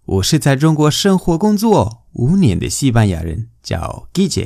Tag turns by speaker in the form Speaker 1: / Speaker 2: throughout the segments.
Speaker 1: 我是在中国生活工作5年的西班牙人，叫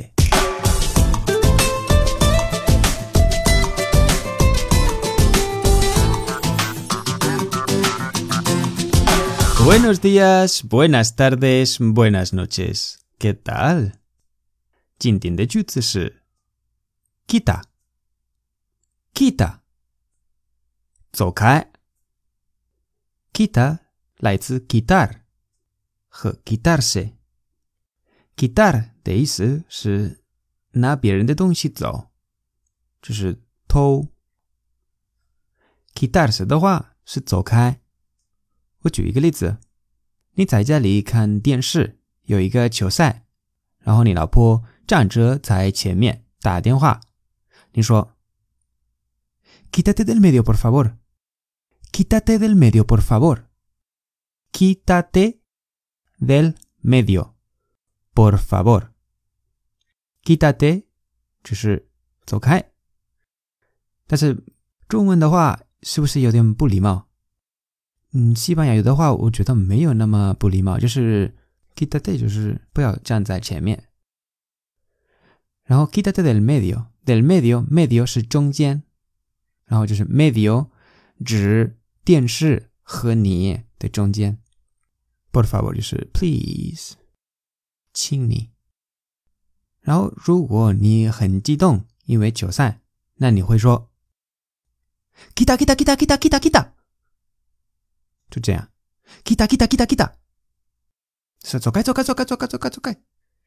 Speaker 1: Guille。Buenos días, buenas tardes, buenas noches. ¿Qué tal? 今天的句子是 Quita, quita, 走开。Quita 来自 quitar 和 quitarse。 Quitar 的意思是拿别人的东西走，就是偷。 Quitarse 的话是走开。我举一个例子，你在家里看电视，有一个球赛，然后你老婆站着在前面打电话，你说 Quítate del medio por favor, quítate del medio por favor, quítate del medio por favor. Quítate 就是走开，但是中文的话是不是有点不礼貌？西班牙语的话我觉得没有那么不礼貌，就是 quítate 就是不要站在前面。然后 quítate del medio, del medio, medio 是中间，然后就是 medio 指电视和你的中间。Por favor 就是 please 请你。然后如果你很激动因为球赛，那你会说 quita, quita, quita, quita, quita, quita， 就这样 quita, quita, quita, quita， 是走开走开走开走开走开走开。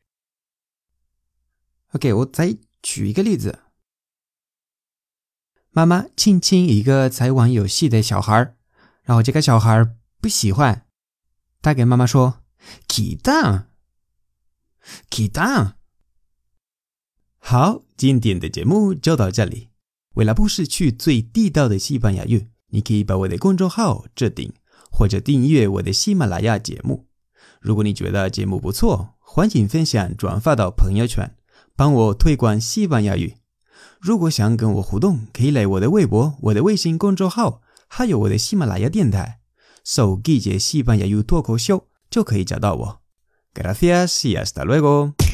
Speaker 1: OK， 我再举一个例子。妈妈亲亲一个在玩游戏的小孩，然后这个小孩不喜欢，他给妈妈说 Quita, Quita。 好，今天的节目就到这里。为了不失去最地道的西班牙语，你可以把我的公众号置顶，或者订阅我的喜马拉雅节目。如果你觉得节目不错，欢迎分享转发到朋友圈，帮我推广西班牙语。如果想跟我互动，可以来我的微博、我的微信公众号，还有我的喜马拉雅电台，搜Guille西班牙语脱口秀就可以找到我。Gracias y hasta luego。